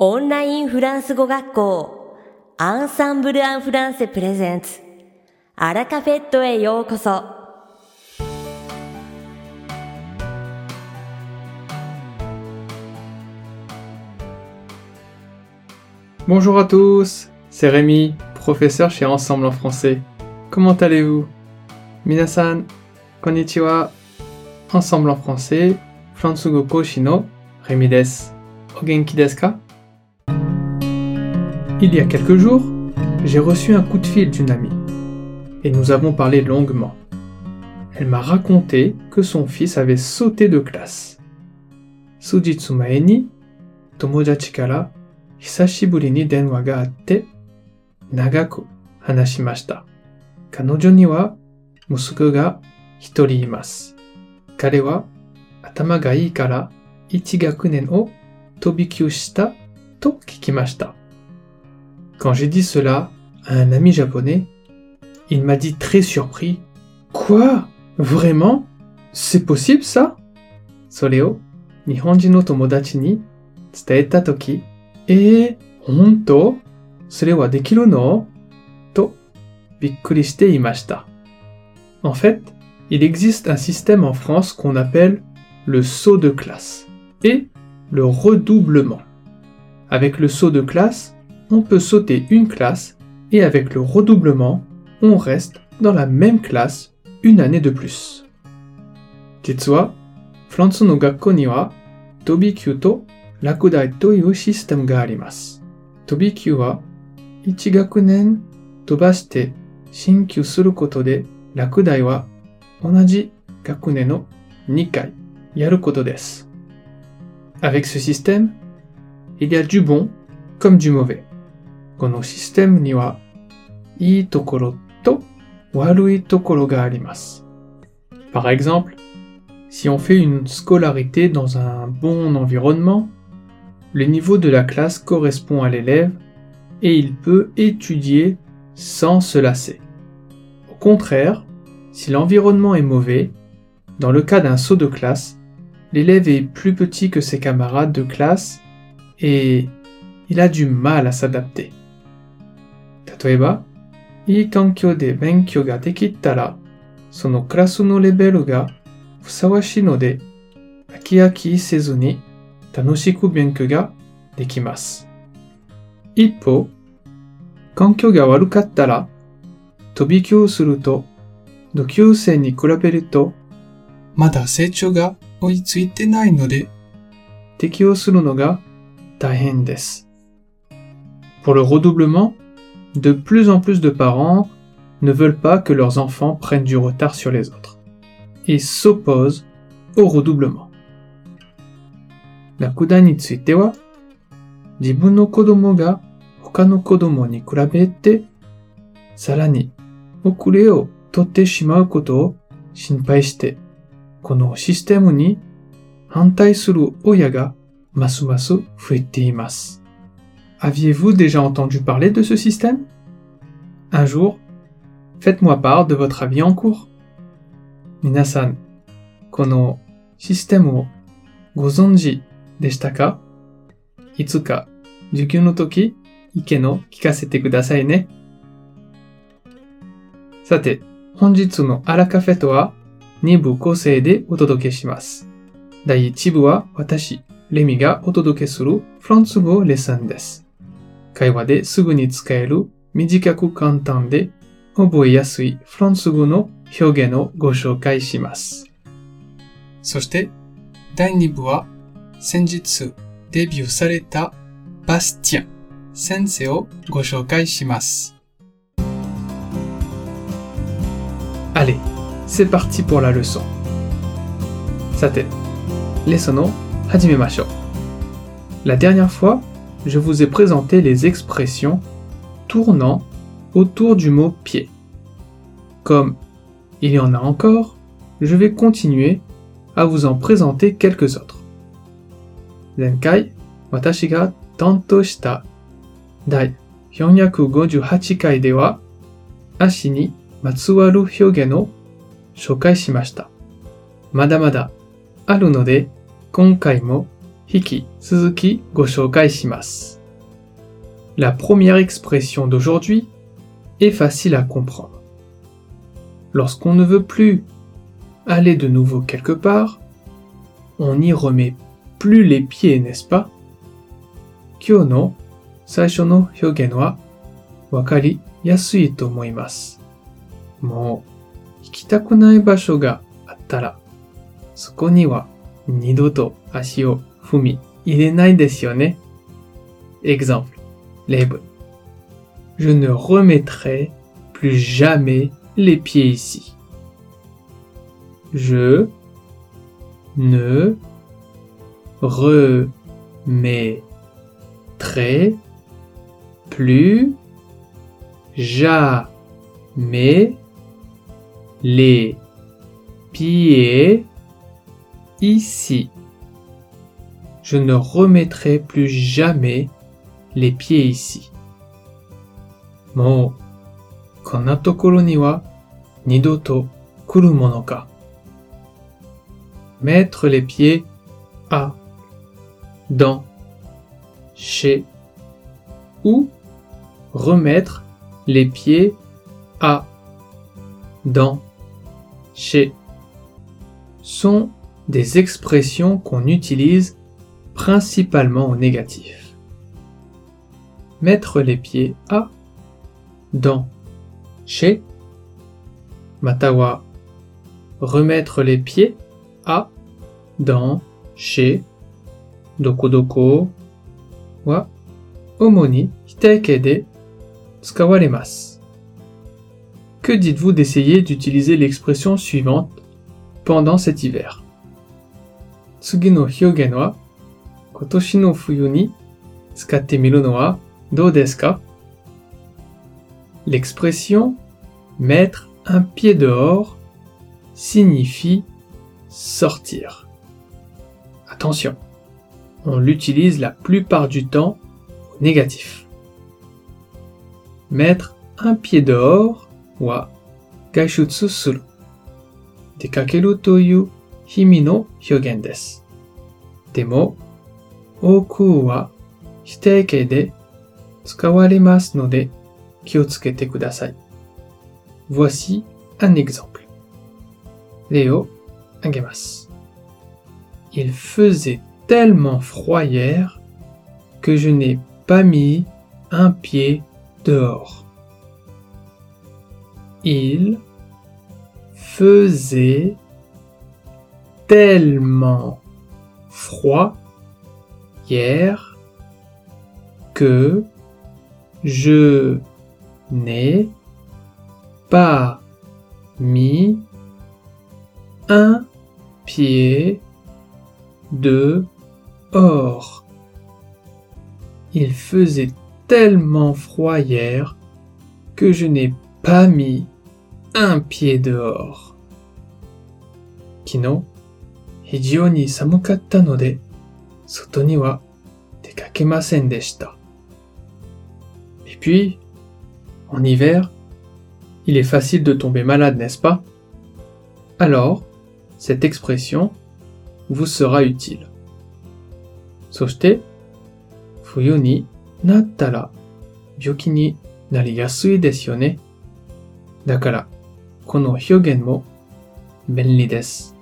オンラインフランス語学校アンサンブル・アン・フランセプレゼンツアラカフェットへようこそ。 Bonjour à tous, c'est Rémi, professeur chez Ensemble en français. Comment allez-vous? Minasan, konnichiwa. Ensemble en français, Fransugo Koshi no Rémi desu. O genki desu ka? Il y a quelques jours, j'ai reçu un coup de fil d'une amie et nous avons parlé longuement. Elle m'a raconté que son fils avait sauté de classe. Sujitsu mae ni tomodachi kara hisashiburi ni denwa ga atte nagaku hanashimashita. Kanojo ni wa musuko ga hitori imasu. Kare wa atama ga ii kara 1 gakunen o tobikyū shita to kikimashita. Quand j'ai dit cela à un ami japonais, il m'a dit très surpris: Quoi? Vraiment? C'est possible ça? それを日本人の友達に伝えたとき、本当？それはできるの？とびっくりしていました。En fait, il existe un système en France qu'on appelle le saut de classe et le redoublement. Avec le saut de classe, on peut sauter une classe et avec le redoublement, on reste dans la même classe une année de plus. 実は、フランスの学校には飛び級と落第というシステムがあります。飛び級は1学年飛ばして進級することで、落第は同じ学年の2回やることです。Avec ce système, il y a du bon comme du mauvais. このシステムにはいいところと悪いところがあります。Par exemple, si on fait une scolarité dans un bon environnement, le niveau de la classe correspond à l'élève et il peut étudier sans se lasser. Au contraire, si l'environnement est mauvais, dans le cas d'un saut de classe, l'élève est plus petit que ses camarades de classe et il a du mal à s'adapter. 例えば、いい環境で勉強ができたら、そのクラスのレベルがふさわしいので、飽き飽きせずに楽しく勉強ができます。一方、環境が悪かったら、飛び級すると、同級生に比べると、まだ成長が追いついてないので、適応するのが大変です。Pour le redoublement, de plus en plus de parents ne veulent pas que leurs enfants prennent du retard sur les autres et s'opposent au redoublement. 落第については、自分の子供が他の子供に比べて、さらに遅れを取ってしまうことを心配して、このシステムに反対する親がますます増えています。Aviez-vous déjà entendu parler de ce système? Un jour, faites-moi part de votre avis en cours. Minasan, このシステムをご存知でしたか？いつか授業の時、意見を聞かせてくださいね。さて、本日のアラカフェとは2部構成でお届けします。第1部は私、レミがお届けするフランス語レッスンです。会話ですぐに使える短く簡単で覚えやすいフランス語の表現をご紹介します。そして第2部は先日デビューされたバスティアン先生をご紹介します。Allez, c'est parti pour la leçon. さて、レッスンを始めましょう。La dernière fois, je vous ai présenté les expressions tournant autour du mot pied. Comme il y en a encore, je vais continuer à vous en présenter quelques autres. 前回、私が担当した第458回では、足にまつわる表現を紹介しました。まだまだあるので、今回も引き続きご紹介します。La première expression d'aujourd'hui est facile à comprendre. Lorsqu'on ne veut plus aller de nouveau quelque part, on n'y remet plus les pieds, n'est-ce pas? Kyō no saisho no hyōgen wa wakari yasui to omoimasu. もう行きたくない場所があったら、そこには二度と足を踏み入れないですよね。Exemple, 例文。Je ne remettrai plus jamais les pieds ici. Je ne remettrai plus jamais les pieds ici. Je ne remettrai plus jamais les pieds ici. もうこんなところには二度と来るものか。Mettre les pieds à, dans, chez, ou remettre les pieds à, dans, chez sont des expressions qu'on utilise principalement au négatif. Mettre les pieds à, dans, chez, matawa, remettre les pieds à, dans, chez, doko doko, wa, omo ni hitaike de tsukawaremasu. Que dites-vous d'essayer d'utiliser l'expression suivante pendant cet hiver? Tsugi no hyōgen wa kotoshi no fuyu ni tsukatte miru no wa dou desu ka? L'expression mettre un pied dehors signifie sortir. Attention, on l'utilise la plupart du temps au négatif. Mettre un pied dehors wa gaishutsu suru, dekakeru toyu himi no hyōgen desu. Demo, oku wa hiteike de tsukawaremasu node kiotsukete kudasai. Voici un exemple. Rei agemasu. Il faisait tellement froid hier que je n'ai pas mis un pied dehors. Il faisait tellement froid hier que je n'ai pas mis un pied dehors. Il faisait tellement froid hier que je n'ai pas mis un pied dehors. Kino, hijou ni samukatta node, soto ni wa dekakemasen deshita. Et puis, en hiver, il est facile de tomber malade, n'est-ce pas? Alors, cette expression vous sera utile. そして、冬になったら病気になりやすいですよね。だから、この表現も便利です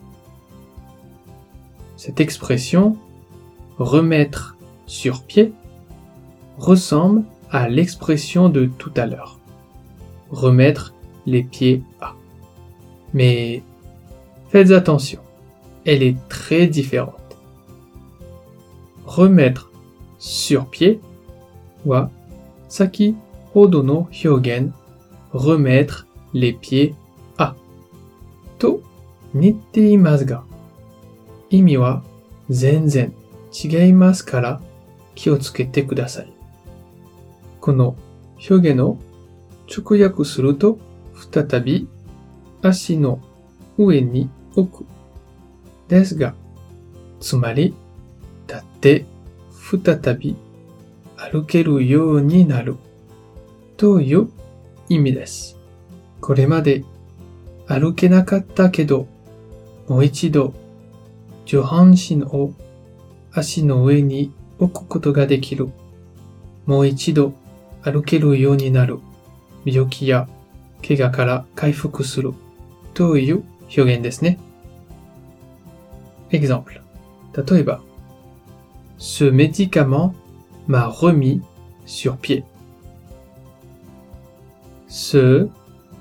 。Cette expression, remettre sur pied, ressemble à l'expression de tout à l'heure. Remettre les pieds à. Mais faites attention, elle est très différente. Remettre sur pied wa saki hodo no hyōgen, remettre les pieds à. To nitte imasu ga, imi wa zenzen chigeimasu kara kiotsukete kudasai. この表現を直訳すると、再び足の上に置くですが、つまり立って再び歩けるようになるという意味です。これまで歩けなかったけど、もう一度上半身を足の上に置くことができる。もう一度歩けるようになる。病気や怪我から回復する。という表現ですね。Exemple. 例えば、Ce médicament m'a remis sur pied. Ce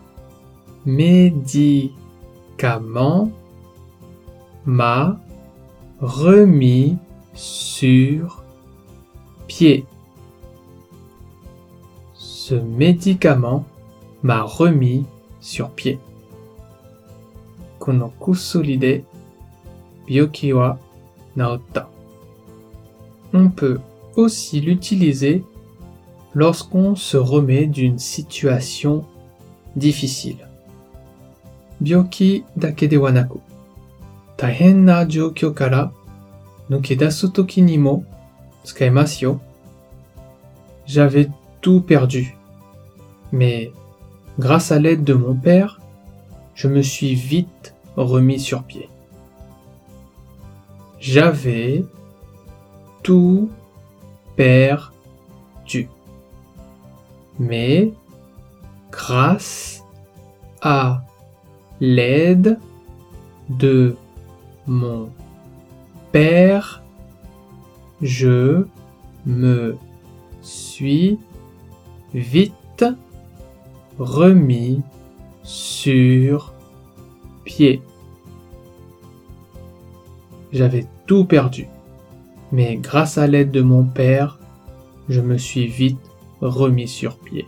médicament m'a remis sur pied. Ce médicament m'a remis sur pied. この薬で病気は治った。On peut aussi l'utiliser lorsqu'on se remet d'une situation difficile. 病気だけではなく、大変な状況から抜け出すときにも使えますよ。J'avais tout perdu, mais grâce à l'aide de mon père, je me suis vite remis sur pied. J'avais tout perdu, mais grâce à l'aide de mon père, je me suis vite remis sur pied. J'avais tout perdu, mais grâce à l'aide de mon père, je me suis vite remis sur pied.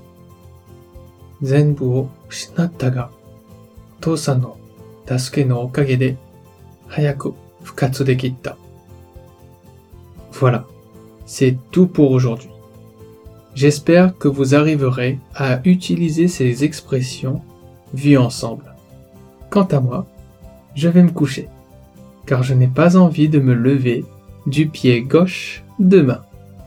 全部を失ったが、お父さんの助けのおかげで早く復活できた。Voilà, c'est tout pour aujourd'hui. J'espère que vous arriverez à utiliser ces expressions vues ensemble. Quant à moi, je vais me coucher, car je n'ai pas envie de me lever du pied gauche demain.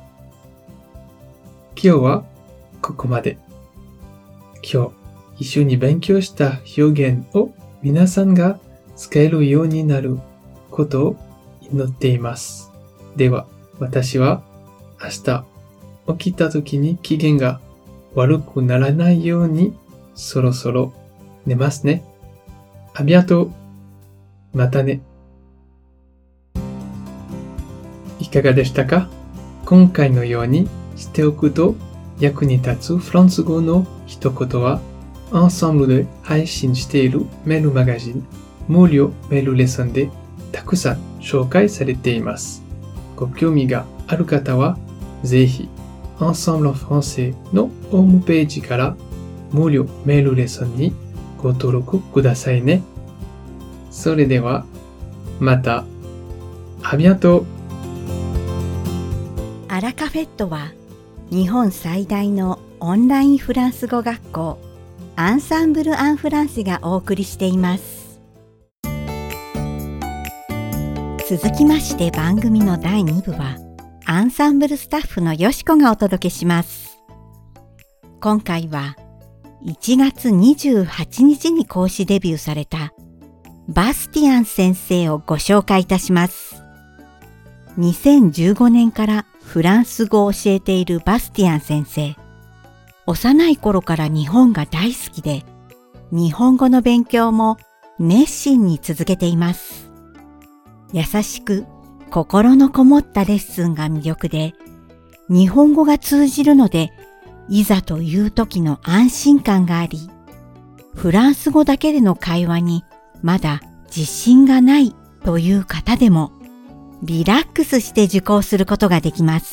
今日はここまで。今日一緒に勉強した表現を皆さんが使えるようになることを祈っています。では、私は明日起きた時に機嫌が悪くならないようにそろそろ寝ますね。ありがとう。またね。いかがでしたか？今回のようにしておくと役に立つフランス語の一言は、Ensembleで配信しているメールマガジン、無料メールレッスンでたくさん紹介されています。ご興味がある方は、ぜひ、Ensemble en français のホームページから無料メールレッスンにご登録くださいね。それでは、また。ありがとう。 アラカフェットは、日本最大のオンラインフランス語学校、アンサンブル・アン・フランセがお送りしています。続きまして番組の第2部は、アンサンブルスタッフのよしこがお届けします。今回は、1月28日に講師デビューされた、バスティアン先生をご紹介いたします。2015年からフランス語を教えているバスティアン先生。幼い頃から日本が大好きで、日本語の勉強も熱心に続けています。優しく心のこもったレッスンが魅力で、日本語が通じるので、いざという時の安心感があり、フランス語だけでの会話にまだ自信がないという方でも、リラックスして受講することができます。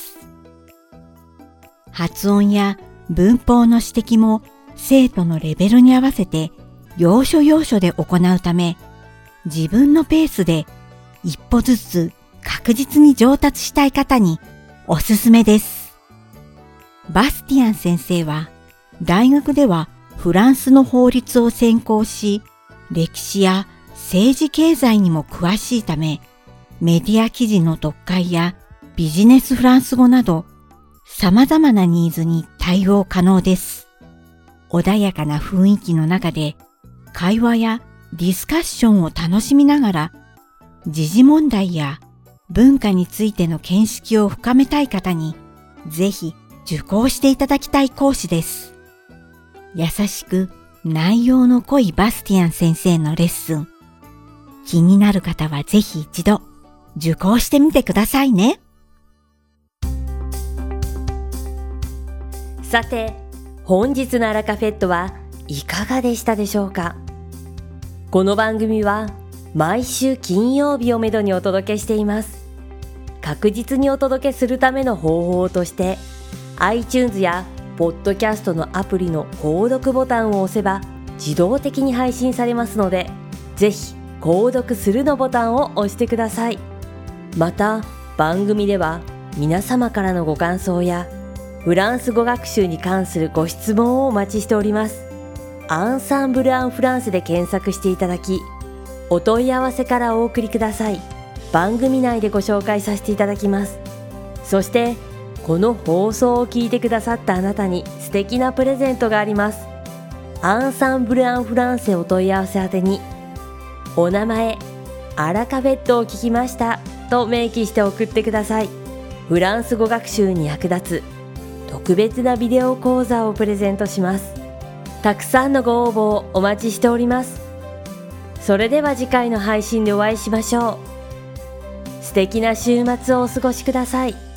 発音や文法の指摘も生徒のレベルに合わせて要所要所で行うため、自分のペースで一歩ずつ確実に上達したい方におすすめです。バスティアン先生は大学ではフランスの法律を専攻し、歴史や政治経済にも詳しいため、メディア記事の読解やビジネスフランス語など様々なニーズに対応可能です。穏やかな雰囲気の中で会話やディスカッションを楽しみながら時事問題や文化についての見識を深めたい方にぜひ受講していただきたい講師です。優しく内容の濃いバスティアン先生のレッスン。気になる方はぜひ一度受講してみてくださいね。 さて、本日のアラカフェットはいかがでしたでしょうか。この番組は毎週金曜日をめどにお届けしています。確実にお届けするための方法として iTunes やポッドキャストのアプリの購読ボタンを押せば自動的に配信されますので、ぜひ購読するのボタンを押してください。また番組では皆様からのご感想やフランス語学習に関するご質問をお待ちしております。アンサンブル・アン・フランセで検索していただき、お問い合わせからお送りください。番組内でご紹介させていただきます。そしてこの放送を聞いてくださったあなたに素敵なプレゼントがあります。アンサンブル・アン・フランセお問い合わせ宛てに、お名前、アラカフェットを聞きましたと明記して送ってください。フランス語学習に役立つ特別なビデオ講座をプレゼントします。たくさんのご応募をお待ちしております。それでは次回の配信でお会いしましょう。素敵な週末をお過ごしください。